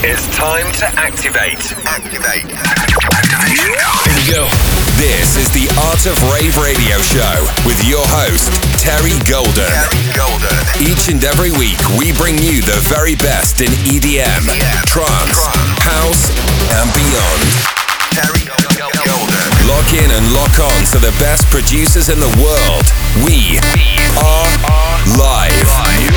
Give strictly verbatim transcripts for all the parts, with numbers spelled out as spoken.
It's time to activate. Activate. Activation code. Here we go. This is the Art of Rave radio show with your host, Terry Golden. Terry Golden. Each and every week, we bring you the very best in E D M, yeah. trance, Trance, house, and beyond. Terry Golden. Lock in and lock on to the best producers in the world. We are live.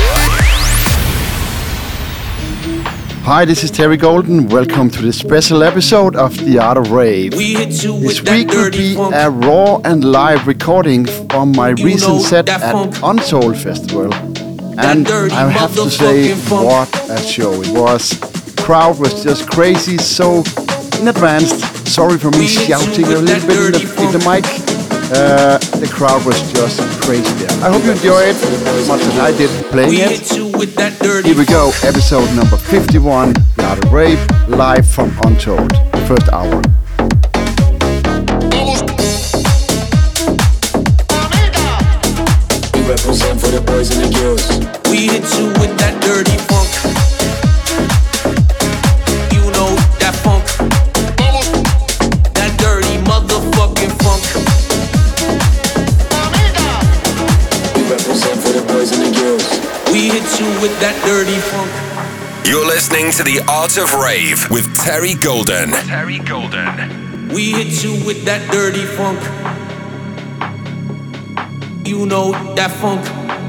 Hi, this is Terry Golden. Welcome to this special episode of The Art of Rave. We hit you This with that week will dirty be funk. a raw and live recording from my You recent know set that at funk. Untold Festival. And dirty I have to say, motherfucking funk. what a show it was. Crowd was just crazy, so in advance, sorry for me We hit you shouting a with little that bit in the, dirty in the mic. Uh, the crowd was just crazy there. I hope you enjoy it as much as I did playing We it. hit you with that dirty Here we go, funk. episode number fifty-one, The Art of Rave, live from Untold, first hour. We represent for the boys and the girls. We hit you with that dirty funk. You know that funk. That dirty motherfucking funk. We represent for the boys and the girls. We hit you with that dirty funk. You're listening to the Art of Rave with Terry Golden. Terry Golden. We hit you with that dirty funk. You know that funk.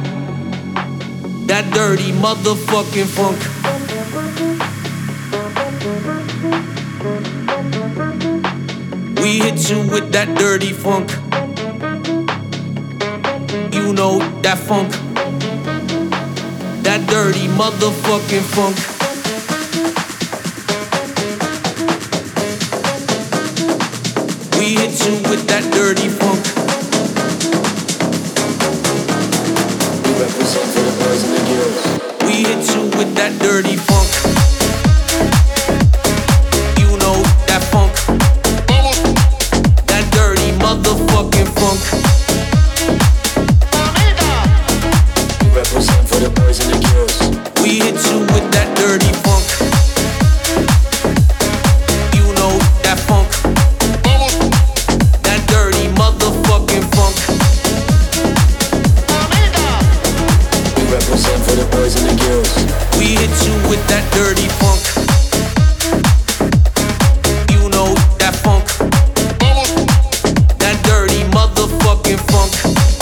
That dirty motherfucking funk. We hit you with that dirty funk. You know that funk. That dirty motherfucking funk. We hit you with that dirty funk. We represent for the boys and the girls. We hit you with that dirty funk. You know that funk. That dirty motherfucking funk. We represent for the boys and the girls. We hit you with that dirty funk. You know that funk. That dirty motherfucking funk. We represent for the boys and the girls. We hit you with that dirty funk. You know that funk. That dirty motherfucking funk.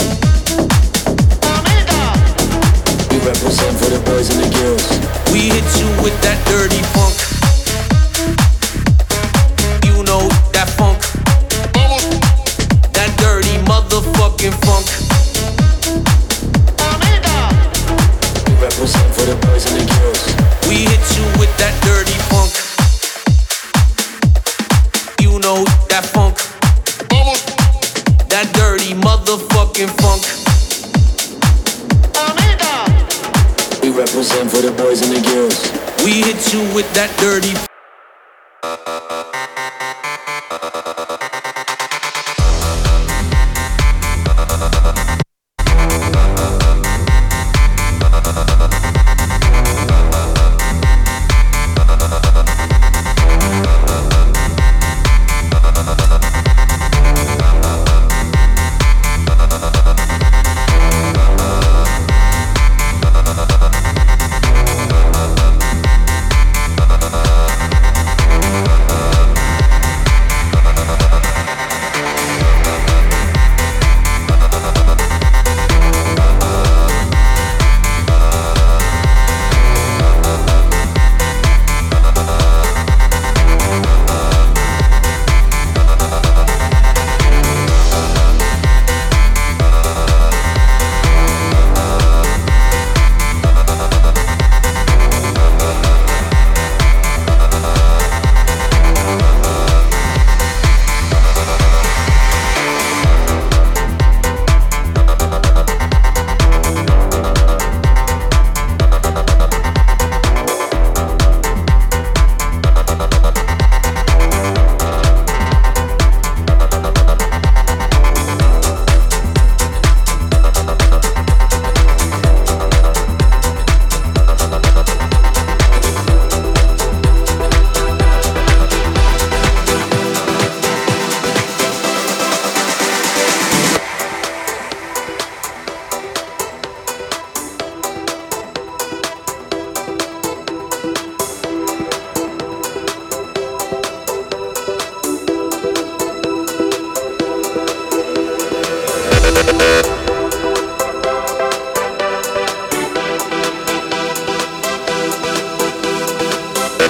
We represent for the boys and the girls. We hit you with that dirty funk. You know that funk. That dirty motherfucking funk. We represent for the boys and the girls. We hit you with that dirty funk. You know that funk. That dirty motherfucking funk. We represent for the boys and the girls. We hit you with that dirty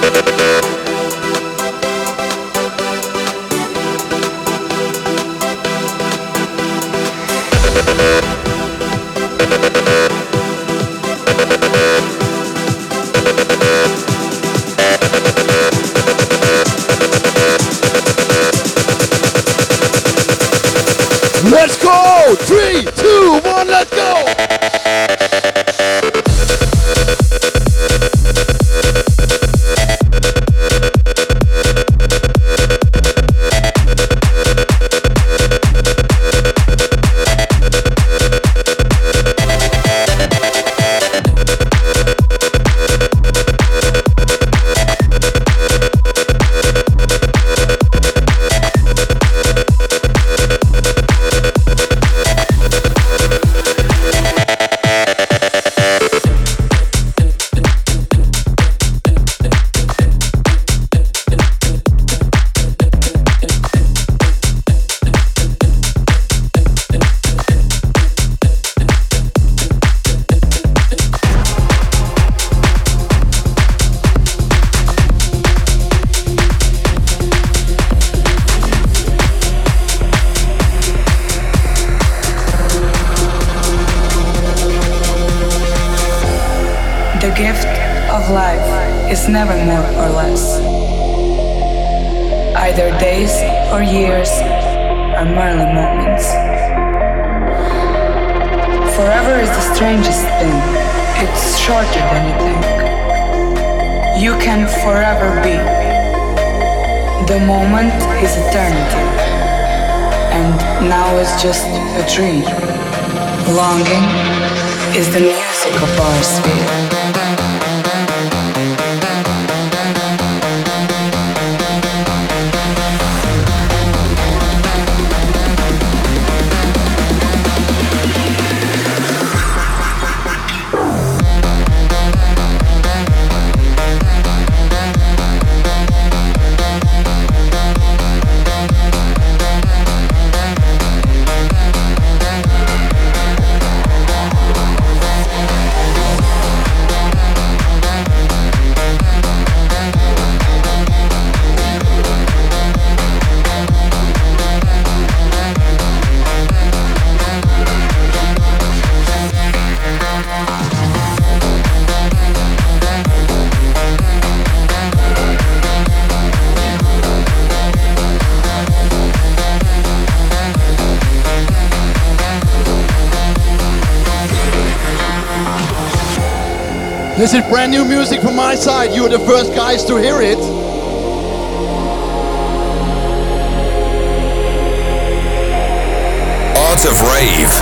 Let's go! Three, two, one, let's go! The gift of life is never more or less. Either days or years are merely moments. Forever is the strangest thing. It's shorter than you think. You can forever be. The moment is eternity. And now is just a dream. Longing is the music of our sphere. This is brand new music from my side. You are the first guys to hear it. Art of Rave.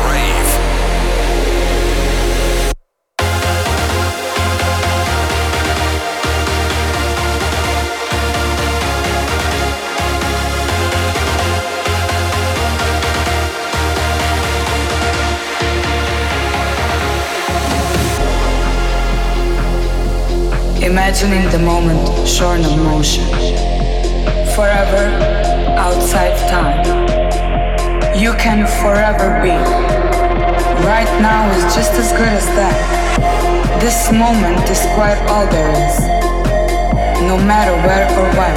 Imagining the moment shorn of motion, forever outside time. You can forever be. Right now is just as good as that. This moment is quite all there is, no matter where or when.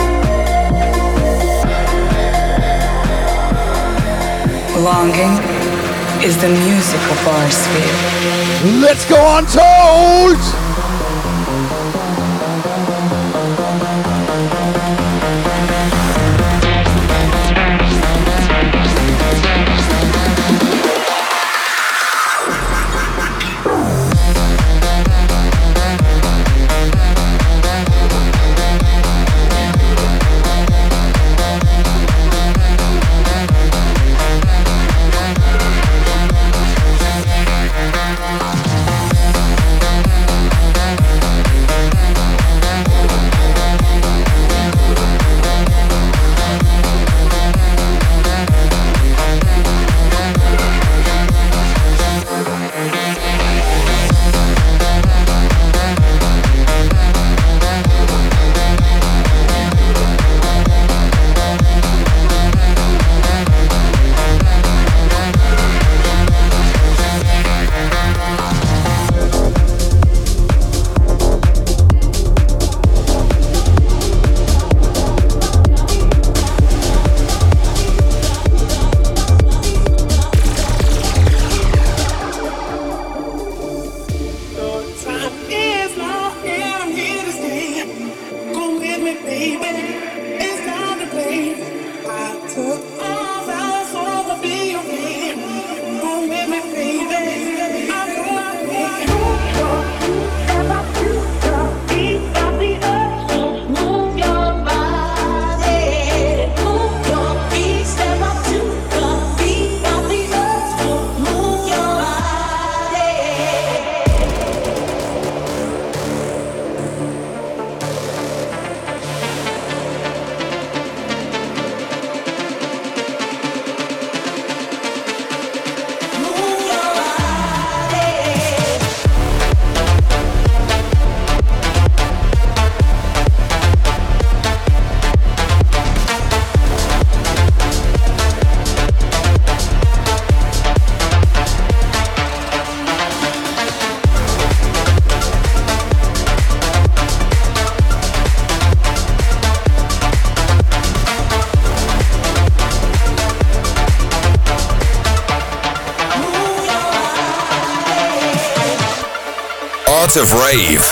Longing is the music of our sphere. Let's go Untold! Art of Rave.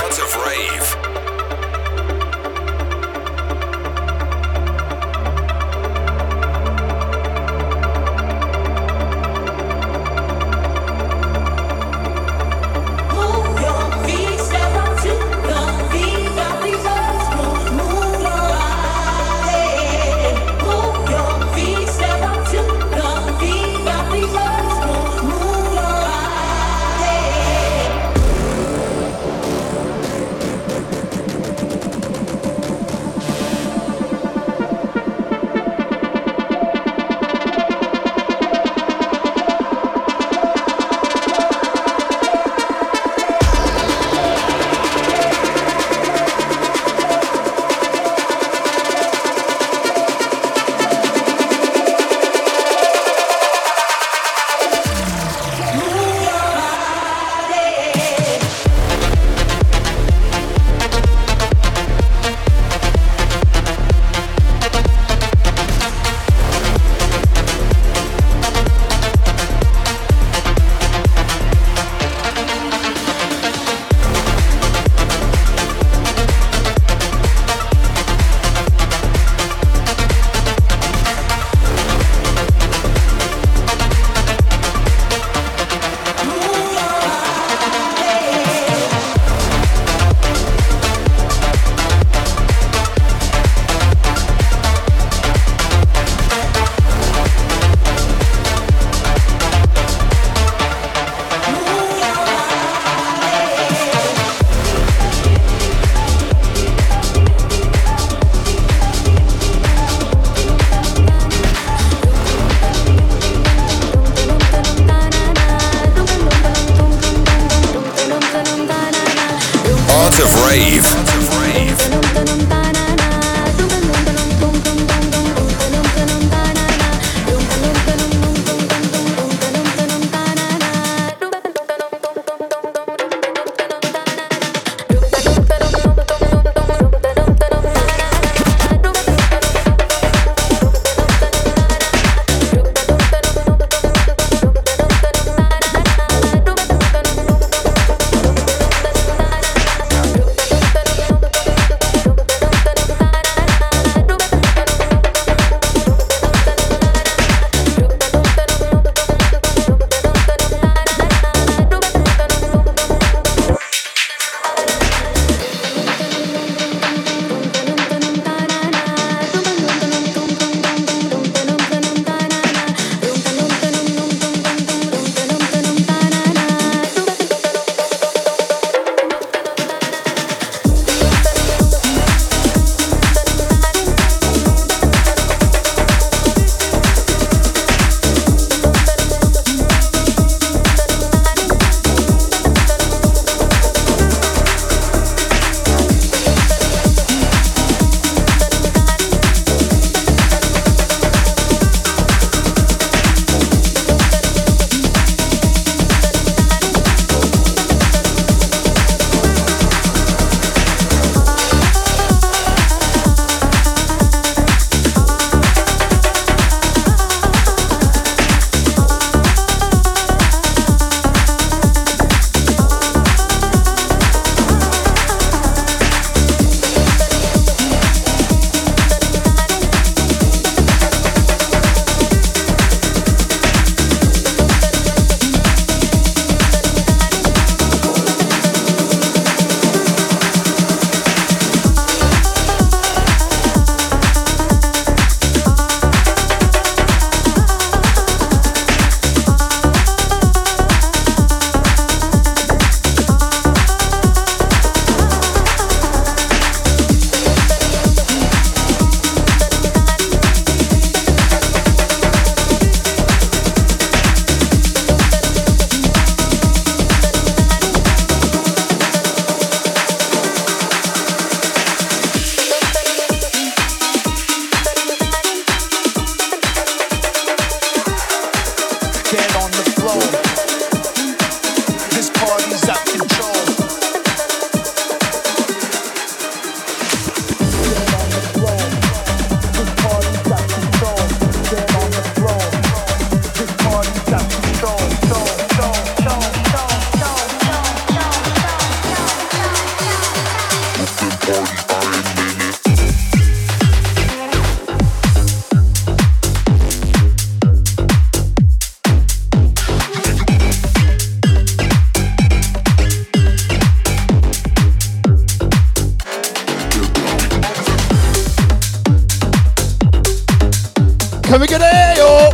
Can we get a yo?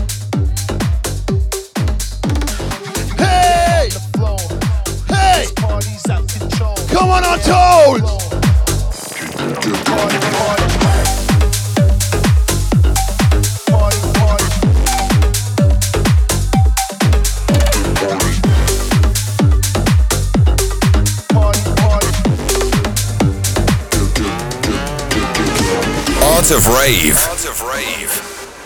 Hey! Hey! Come on, on toes! Art of Rave. Art of Rave.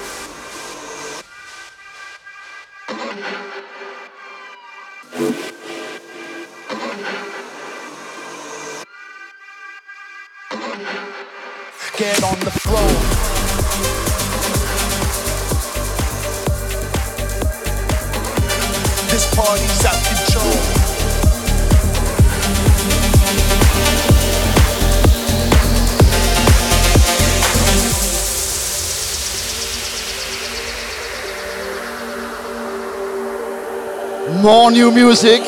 Get on the floor. This party's out of control. More new music.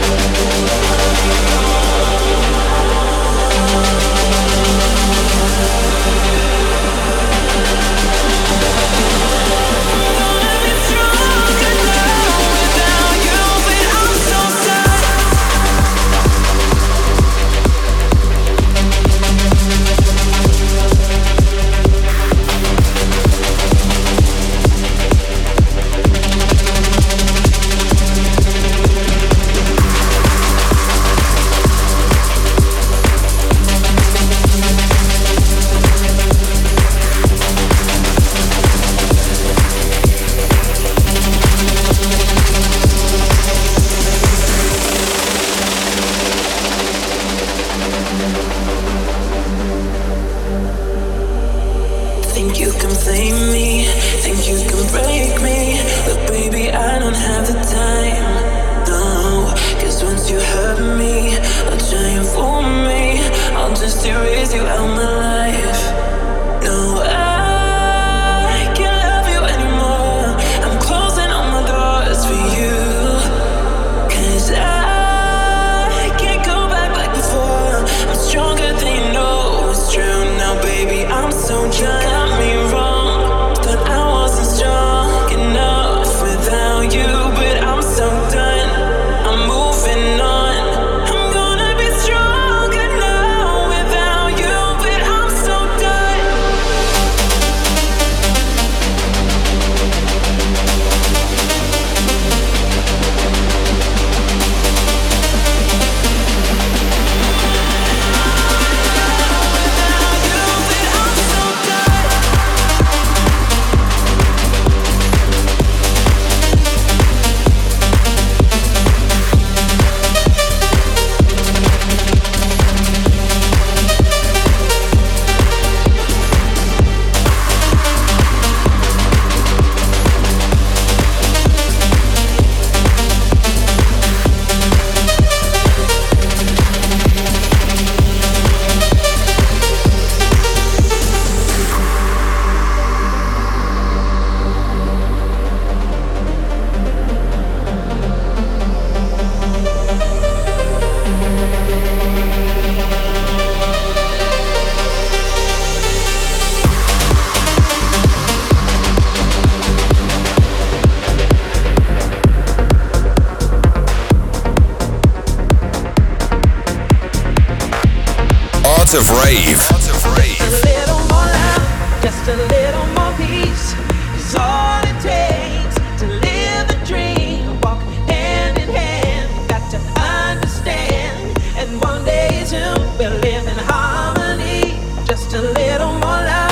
of Rave. Just a little more love, just a little more peace is all it takes to live the dream. Walk hand in hand, got to understand. And one day soon we'll live in harmony. Just a little more love.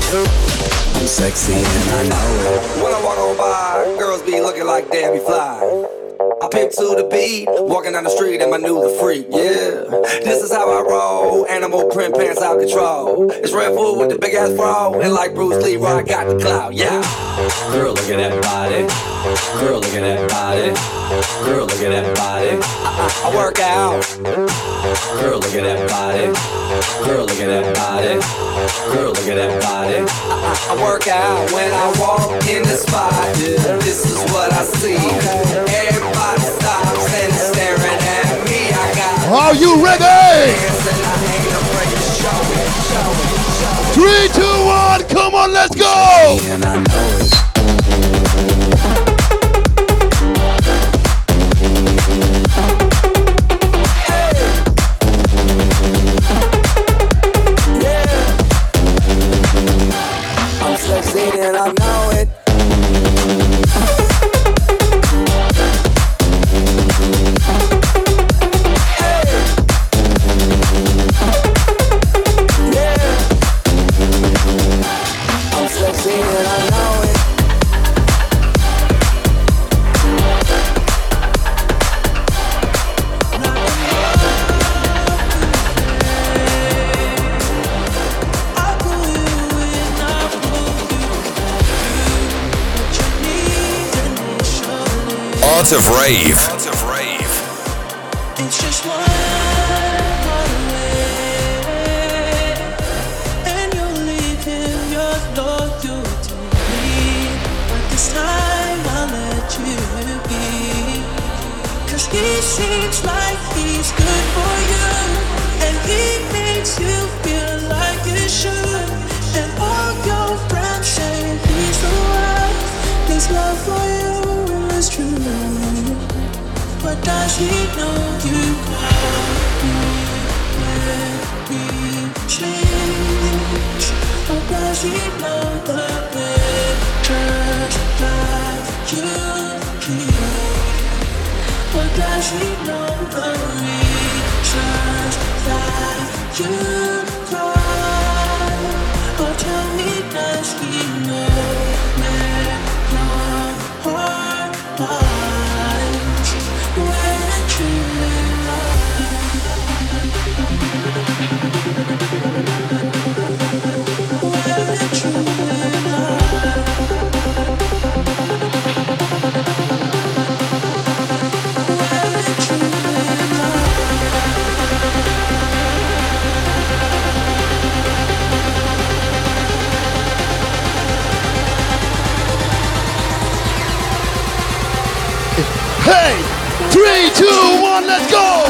I'm sexy and I know it. When I walk on by, girls be looking like Debbie Fly. I pick to the beat, walking down the street and my new the freak, yeah. This is how I roll, animal print pants out control. It's Red Bull with the big ass bra, and like Bruce Lee, I got the clout, yeah. Girl, look at that body. Girl, look at that body. Girl, look at that body. I, I work out. Girl, look at that body. Girl, look at that body. Girl, look at that body. I, I work out when I walk in the spot. Yeah. This is what I see. Everybody stops and is staring at me. I got. Are you ready? Three, two, one, come on, let's go! And I know it. And I know it. Hey. Yeah. I'm sexy and I know it. Art of Rave. Art of Rave. It's just one call away, and you're leaving your loyalty to me. But this time I'll let you be, 'cause he seems like he's good for you, and he makes you feel like you should. And all your friends say he's the one. His love for you is true. But does he know you can't let me change? Or does he know the pictures that you keep? Or does he know the reasons that you cry? Or tell me, does he know that your heart lies when it truly lies? When it truly lies. When it truly Hey, three, two, one, let's go!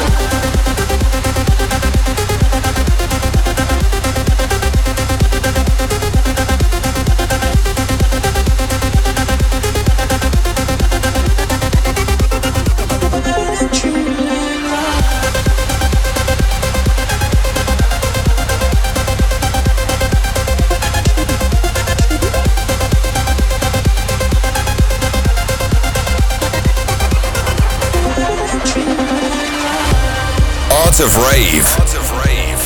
Art of Rave. Art of Rave.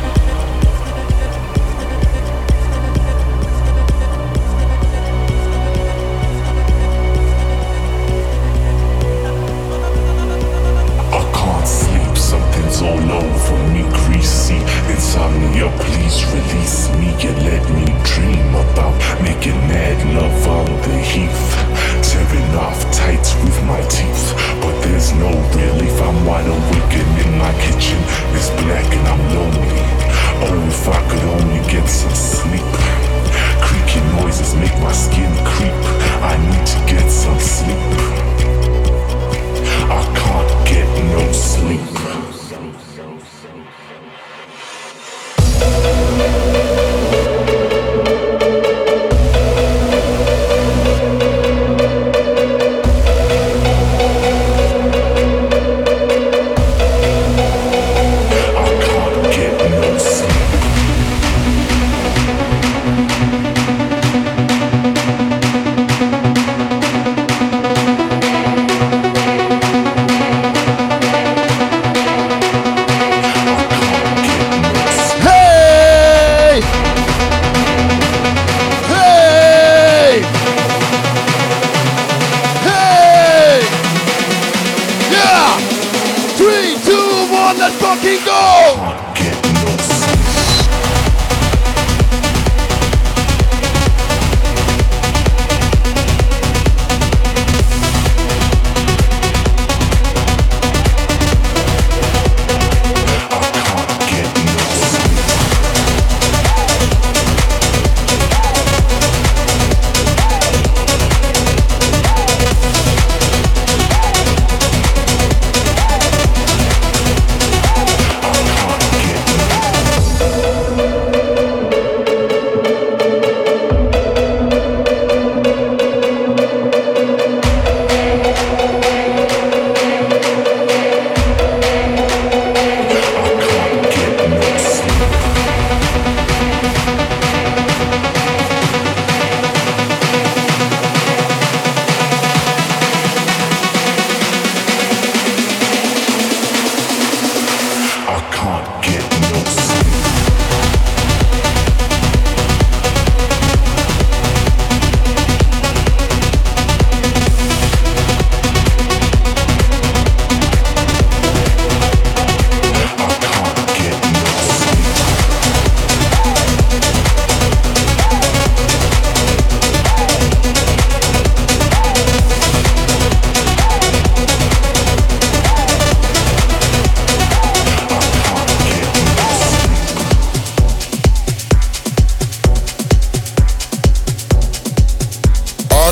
I can't sleep, something's all over me, greasy. Insomnia, please release me and let me dream about making mad love on the heath, tearing off tights with my teeth. But there's no relief, I'm wide awake and in my kitchen it's black and I'm lonely. Oh, if I could only get some sleep. Creaky noises make my skin creep. I need to get some sleep. I can't get no sleep. I can't get no sleep.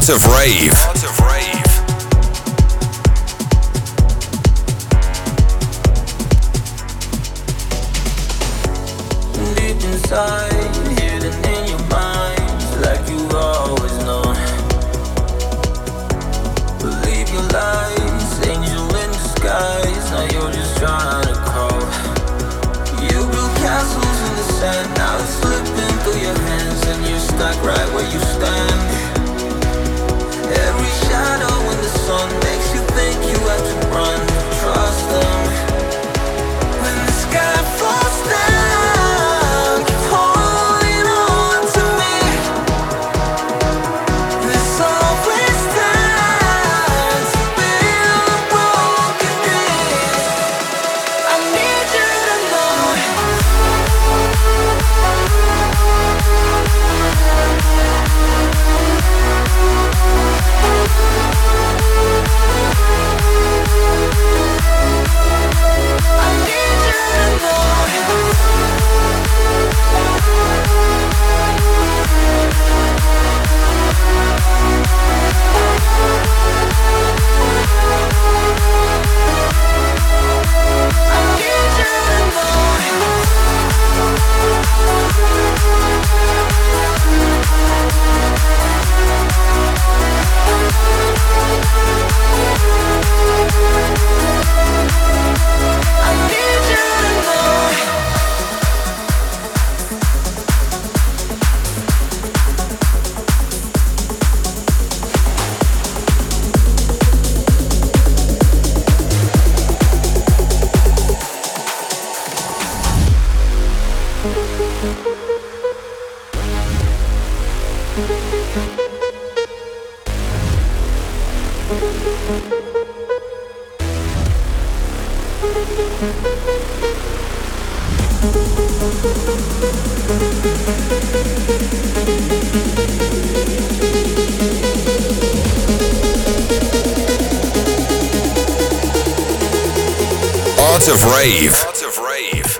Art of Rave. Art of Rave. Deep inside, hidden in your mind, like you've always known. Believe your lies, angel in disguise. Now you're just trying to crawl. You build castles in the sand, now it's slipping through your hands, and you're stuck right where you stand. Every shadow in the sun makes you think you have to run. Trust them. When the sky falls down, keep holding on to me. There's always time to build a broken dream. I need you to know. Art of Rave. Art of Rave.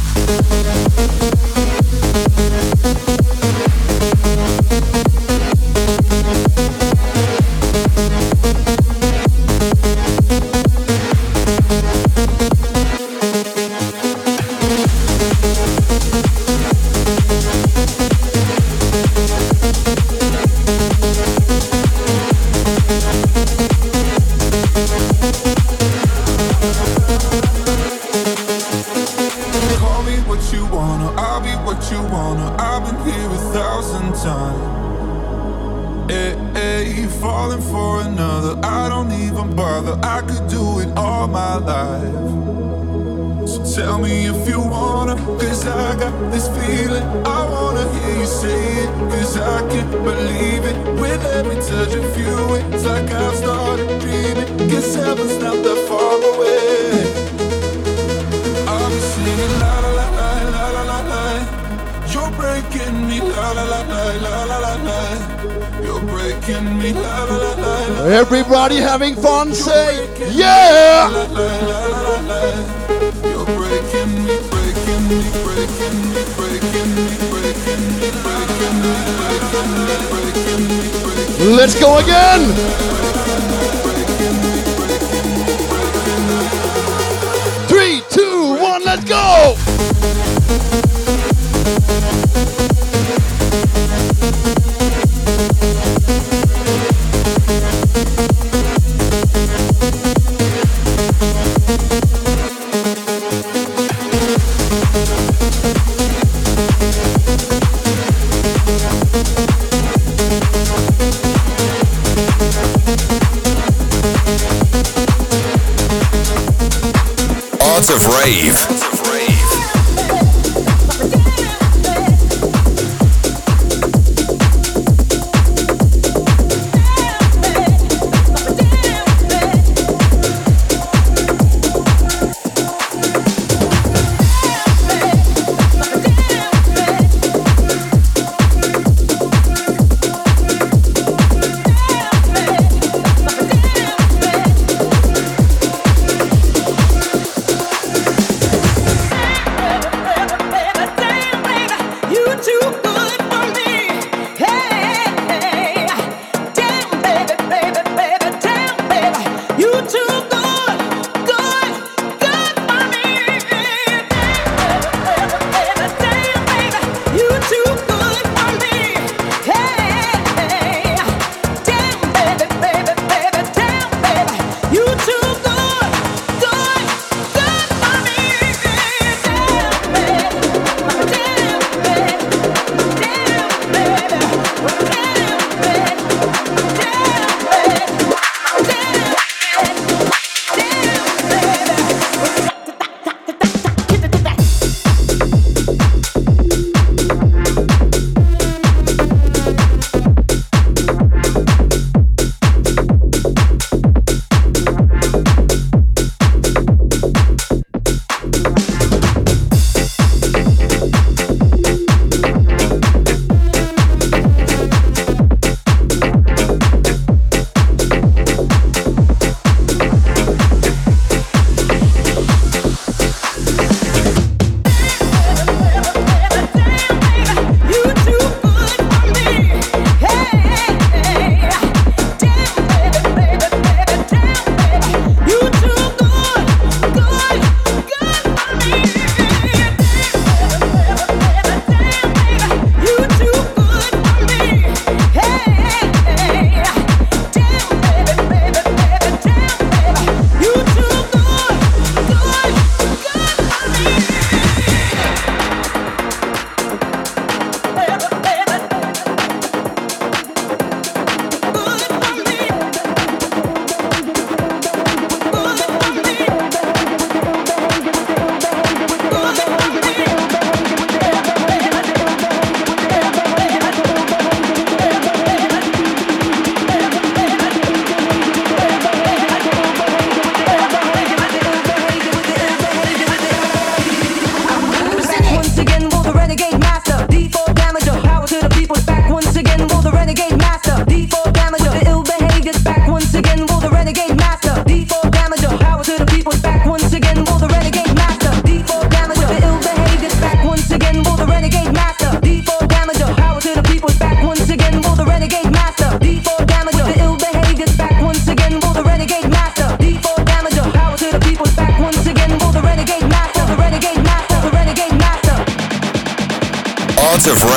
Everybody having fun, say yeah! You're breaking me, breaking me, breaking me, breaking me, breaking me, breaking me, breaking me, breaking me. Let's go again! Three, two, one, let's go! Art of Rave.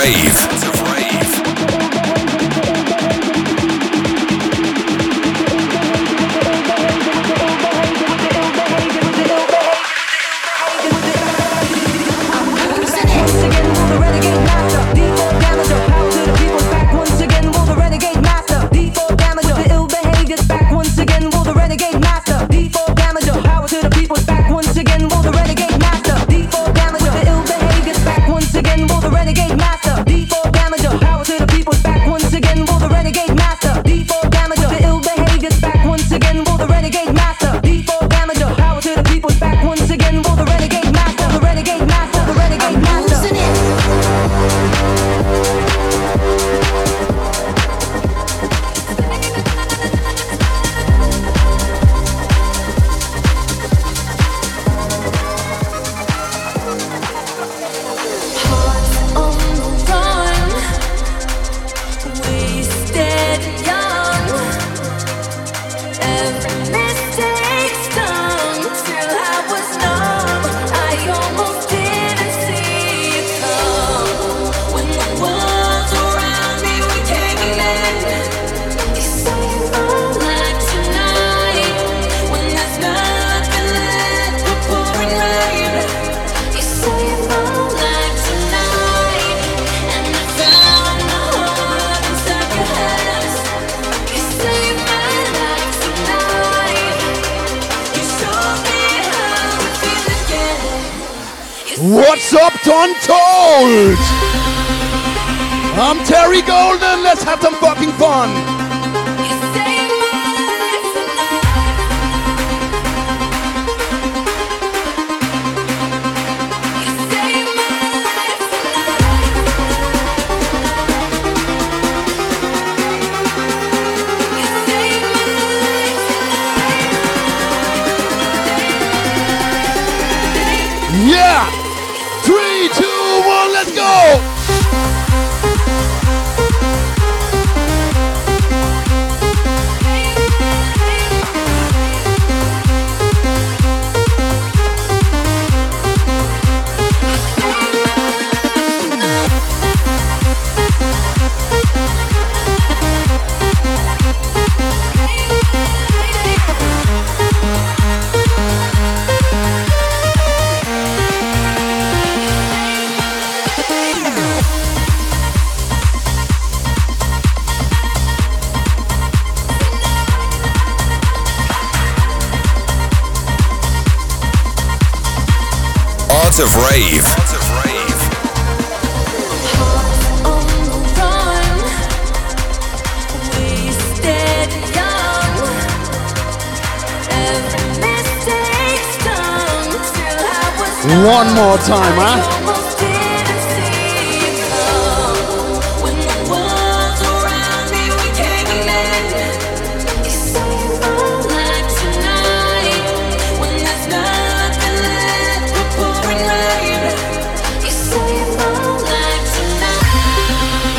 Rave. What's up, Untold? I'm Terry Golden. Let's have some fucking fun. Yeah! Three, two, one, let's go! Art of Rave. Art of Rave. On the run, wasted young. Every mistake's done till I was done. One more time, huh? Almost didn't see it come. When the walls around me were caving in, you say it all like tonight. When there's nothing left but pouring rain, you say it all like tonight.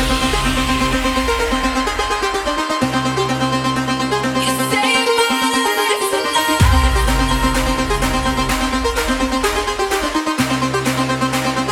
You say it all like tonight.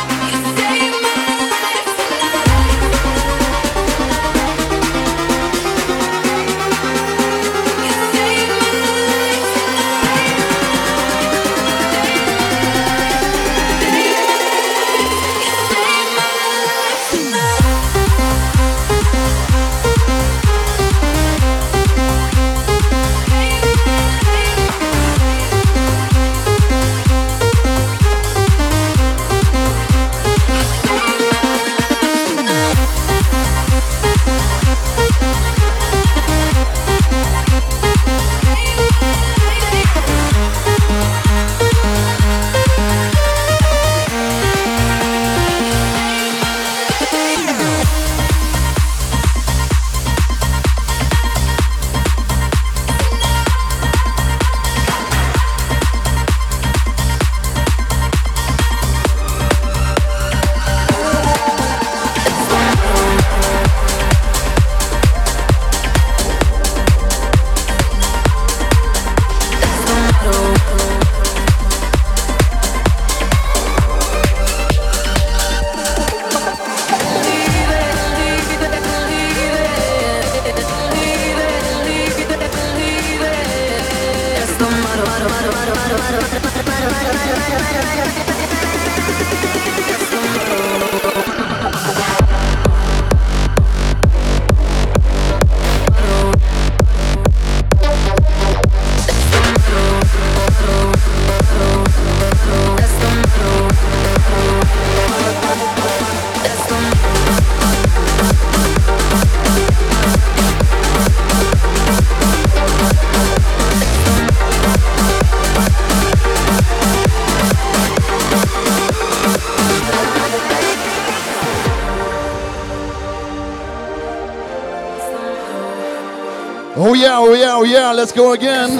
Oh yeah, oh yeah, oh yeah, let's go again.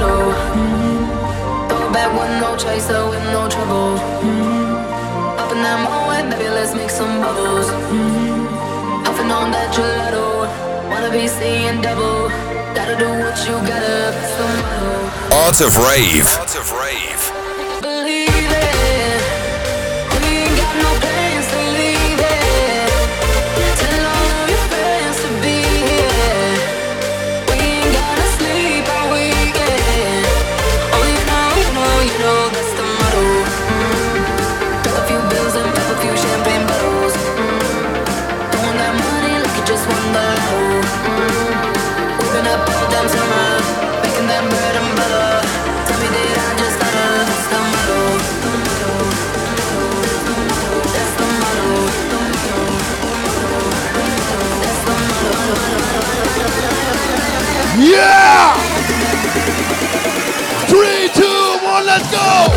Throw back with no chaser, with no trouble. Up in that moment, baby, let's make some bubbles. Puffing on that gelato, wanna be seeing double. Gotta do what you gotta. Art of Rave. Art of Rave. Believe it. We ain't got no plans to leave it. Tell all of your friends to be here. We ain't gotta sleep all weekend. Oh, you know, you know, you know that's the motto. Mm. Got a few bills and pop a few champagne bottles. Mm. Throwing that money like you just won the lotto. Mm. Whipping up all damn summer, making that bread and butter. Tell me that I just gotta. That's the motto. That's the motto. That's the motto. Yeah! Three, two, one, let's go!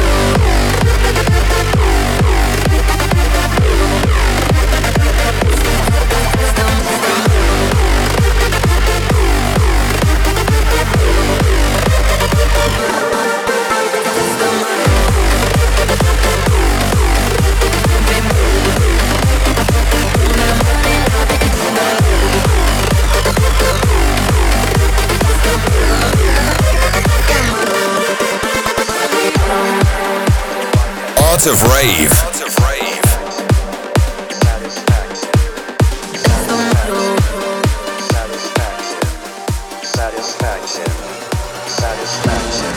Art of Rave. Art of Rave. Satisfaction. Satisfaction.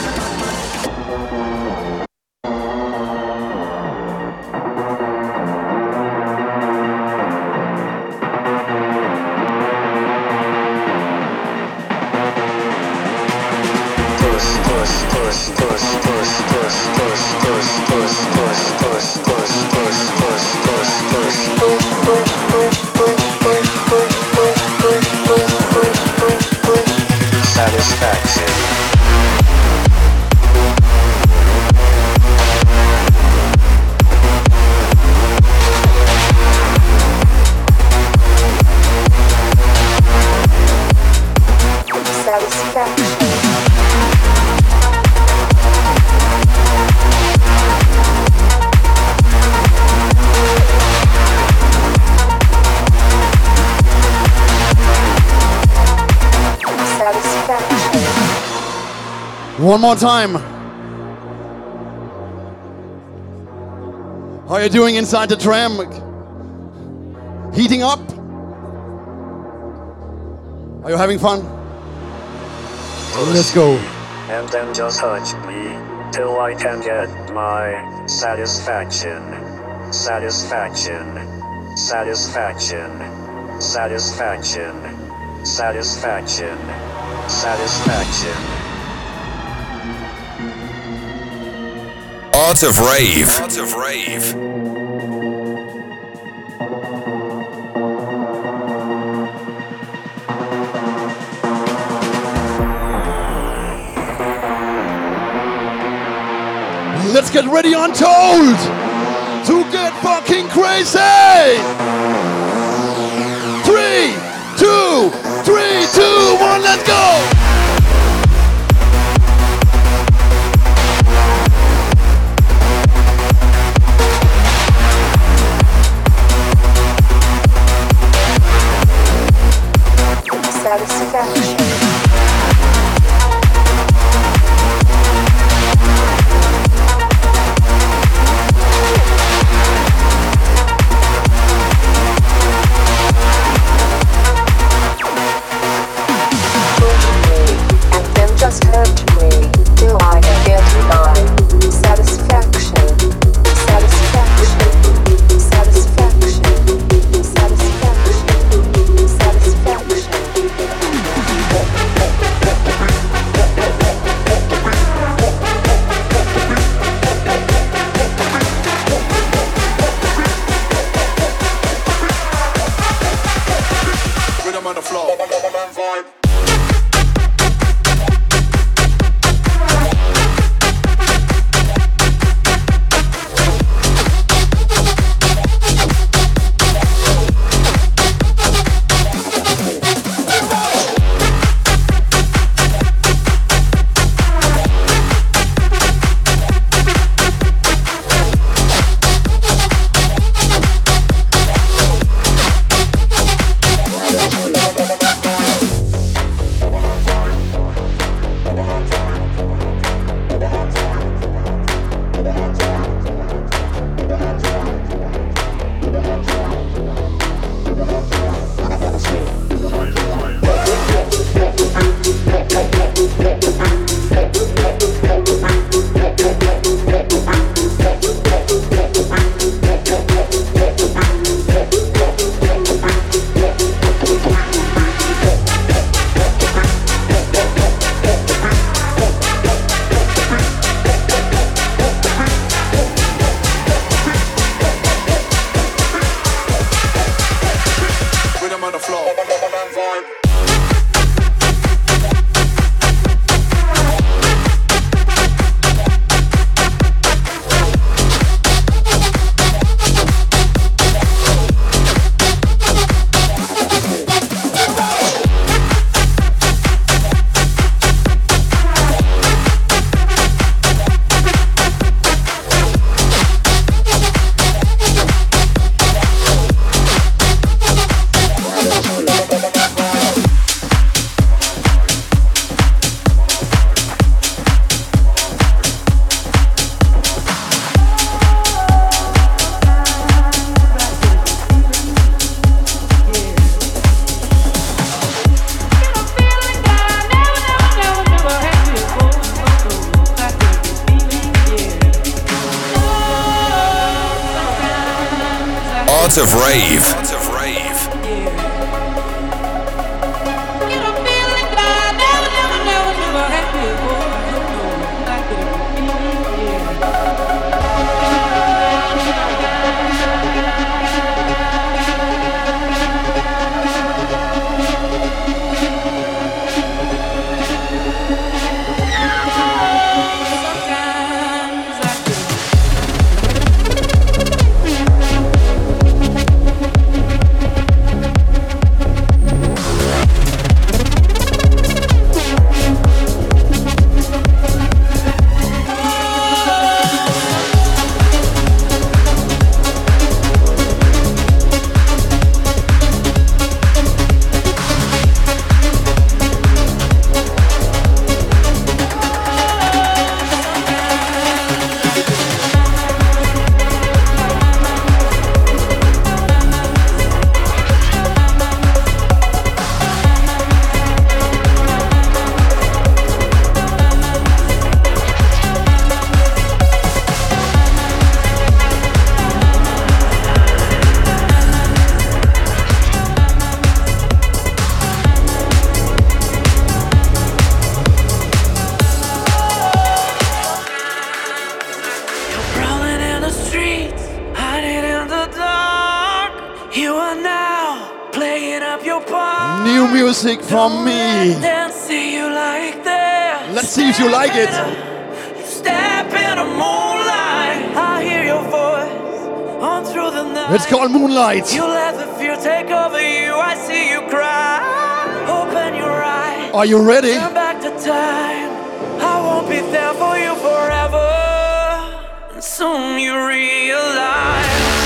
One more time. How are you doing inside the tram? Heating up? Are you having fun? Let's go. And then just touch me till I can get my satisfaction. Satisfaction. Satisfaction. Satisfaction. Satisfaction. Satisfaction. Art of Rave. Art of Rave. Let's get ready Untold to get fucking crazy. Three, two, three, two, one, let's go. Satisfaction. Push me, and then just hurt me till I can get on the floor. Vibe. Art of Rave. New music from me. Let's see if you like it. Step in the moonlight, I hear your voice on through the night. It's called Moonlight. You let the fear take over you. I see you cry. Open your eyes. Are you ready? Turn back to time. I won't be there for you forever. And soon you realize.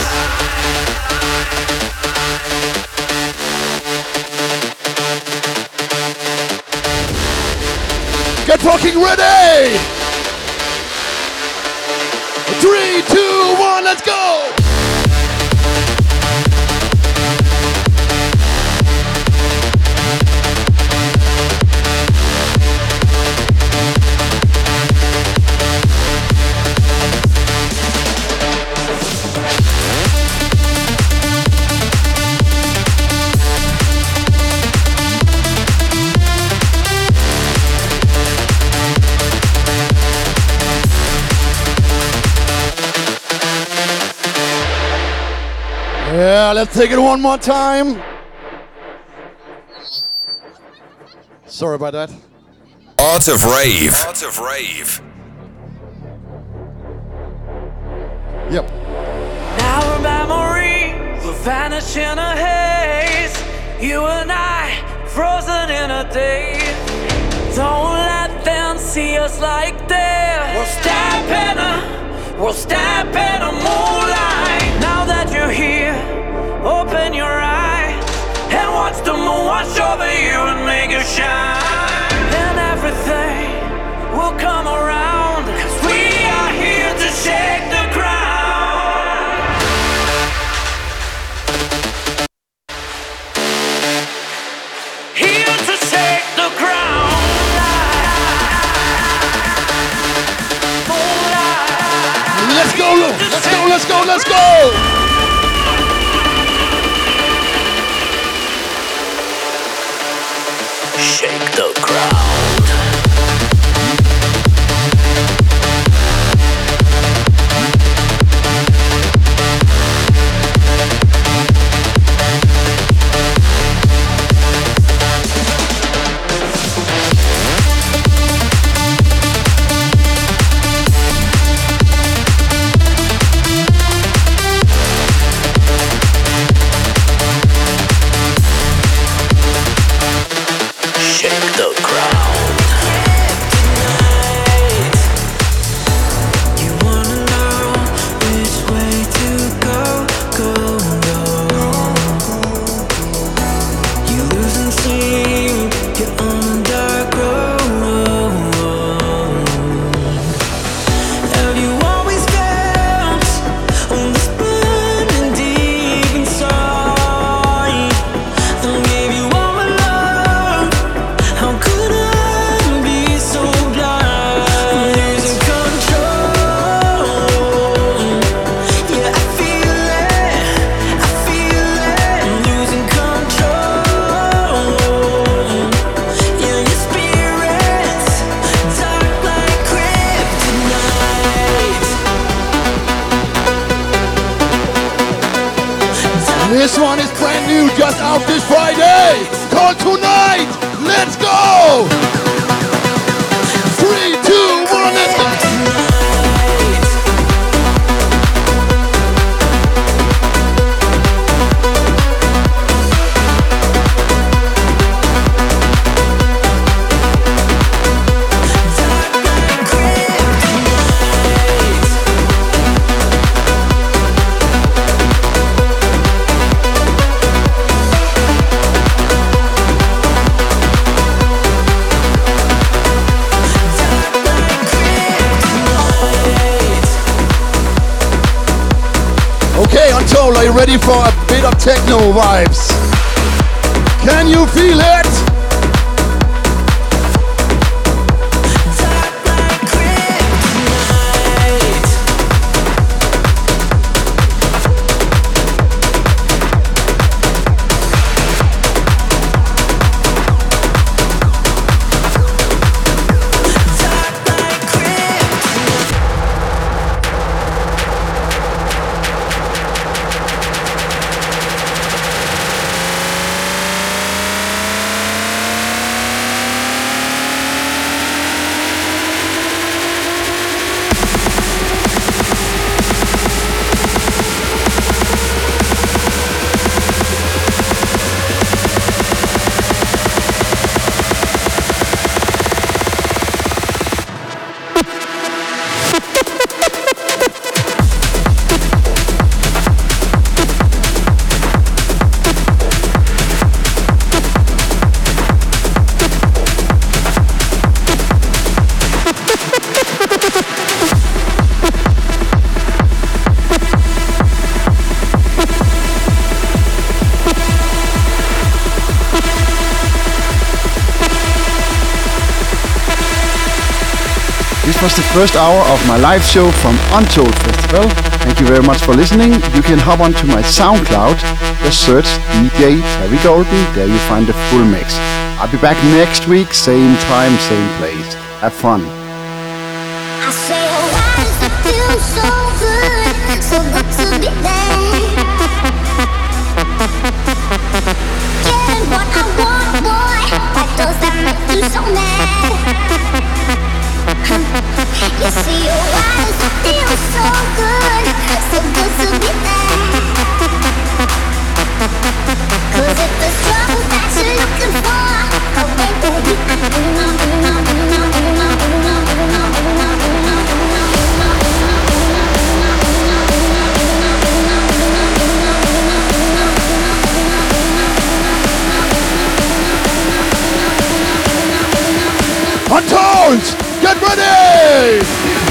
Get fucking ready! Three, two, one, let's go! Yeah, let's take it one more time. Sorry about that. Art of Rave. Art of Rave. Yep. Our memories will vanish in a haze. You and I, frozen in a daze. Don't let them see us like this. We'll step in a, we'll step in a moonlight. Now that you're here, open your eyes and watch the moon wash over you and make you shine. And everything will come around, 'cause we are here to shake the ground. Here to shake the ground. Let's go, let's go, let's go, let's go! Shake the ground. This one is brand new, just out this Friday. Called Tonight. Let's go. Three, two, one, let's go. Okay, Untold, are you ready for a bit of techno vibes? Can you feel it? This was the first hour of my live show from Untold Festival. Thank you very much for listening. You can hop onto my SoundCloud, just search D J Terry Golden, there you find the full mix. I'll be back next week, same time, same place. Have fun. I say, why does it feel so good, so good to be there? Getting what I want, boy, why does that make you Controls, get ready!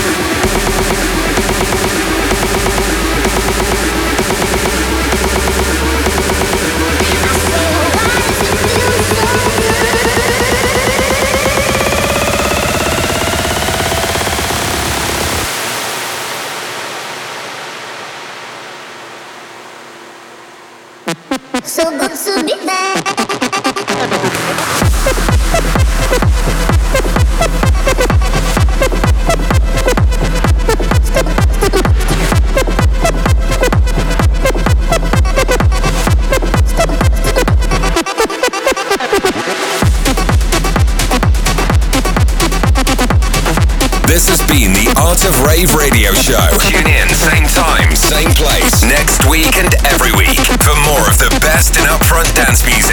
So good to be back. This has been the Art of Rave radio show. Tune in, same time, same place, next week and every week for more of the best in upfront dance music.